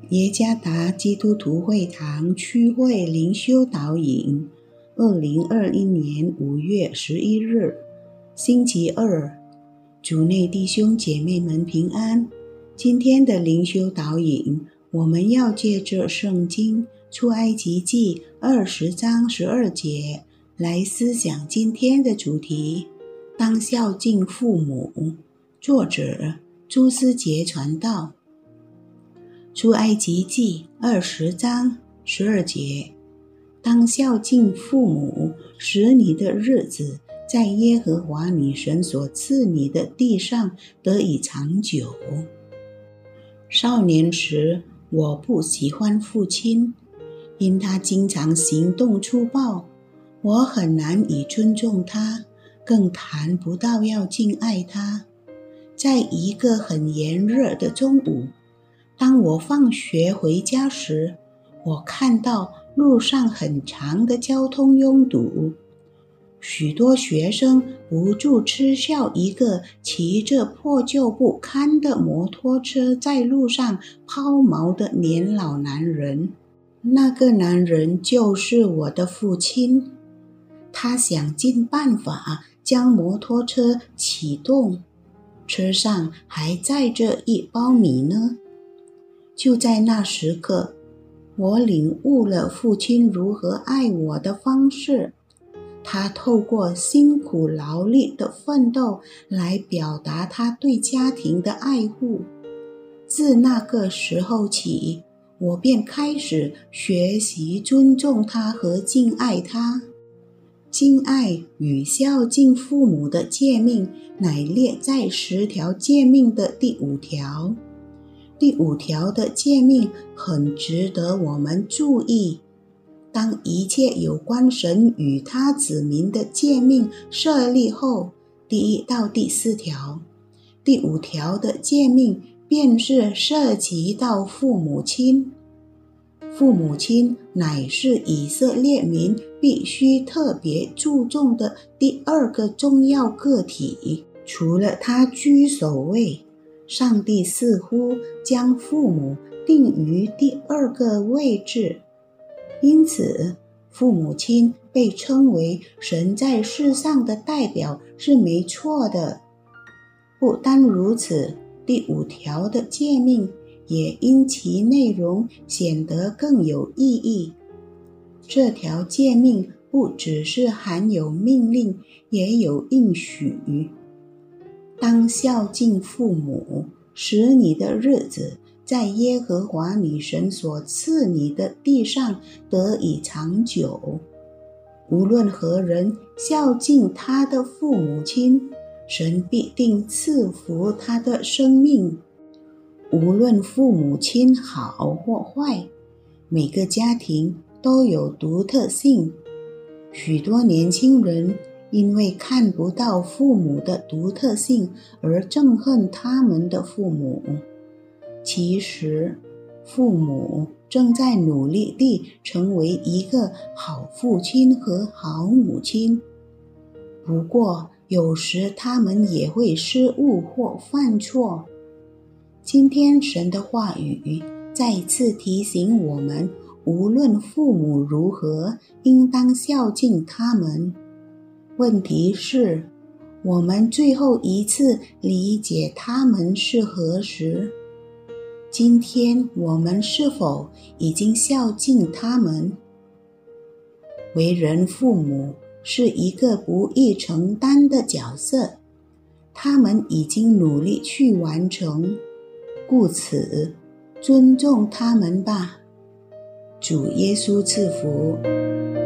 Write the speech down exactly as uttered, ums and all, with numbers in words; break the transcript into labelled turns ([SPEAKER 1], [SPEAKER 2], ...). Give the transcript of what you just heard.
[SPEAKER 1] 耶加达基督徒会堂区会灵修导引，二零二一年五月十一日，星期二，主内弟兄姐妹们平安。今天的灵修导引，我们要借着圣经出埃及记二十章十二节来思想今天的主题：当孝敬父母。作者朱思杰传道。出埃及记二十章十二节，当孝敬父母，使你的日子在耶和华你神所赐你的地上得以长久。少年时，我不喜欢父亲，因他经常行动粗暴，我很难以尊重他，更谈不到要敬爱他。在一个很炎热的中午，当我放学回家时，我看到路上很长的交通拥堵，许多学生不住嗤笑一个骑着破旧不堪的摩托车在路上抛锚的年老男人。那个男人就是我的父亲，他想尽办法将摩托车启动，车上还载着一包米呢。就在那时刻，我领悟了父亲如何爱我的方式。他透过辛苦劳力的奋斗来表达他对家庭的爱护。自那个时候起，我便开始学习尊重他和敬爱他。敬爱与孝敬父母的诫命乃列在十条诫命的第五条。第五条的诫命很值得我们注意。当一切有关神与他子民的诫命设立后，第一到第四条，第五条的诫命便是涉及到父母亲。父母亲乃是以色列民必须特别注重的第二个重要个体，除了他居首位，上帝似乎将父母定于第二个位置，因此父母亲被称为神在世上的代表是没错的。不单如此，第五条的诫命也因其内容显得更有意义。这条诫命不只是含有命令，也有应许。当孝敬父母，使你的日子在耶和华你神所赐你的地上得以长久。无论何人孝敬他的父母亲，神必定赐福他的生命。无论父母亲好或坏，每个家庭都有独特性。许多年轻人因为看不到父母的独特性而憎恨他们的父母。其实，父母正在努力地成为一个好父亲和好母亲。不过，有时他们也会失误或犯错。今天神的话语再次提醒我们，无论父母如何，应当孝敬他们。问题是，我们最后一次理解他们是何时？今天我们是否已经孝敬他们？为人父母是一个不易承担的角色，他们已经努力去完成，故此尊重他们吧。主耶稣赐福。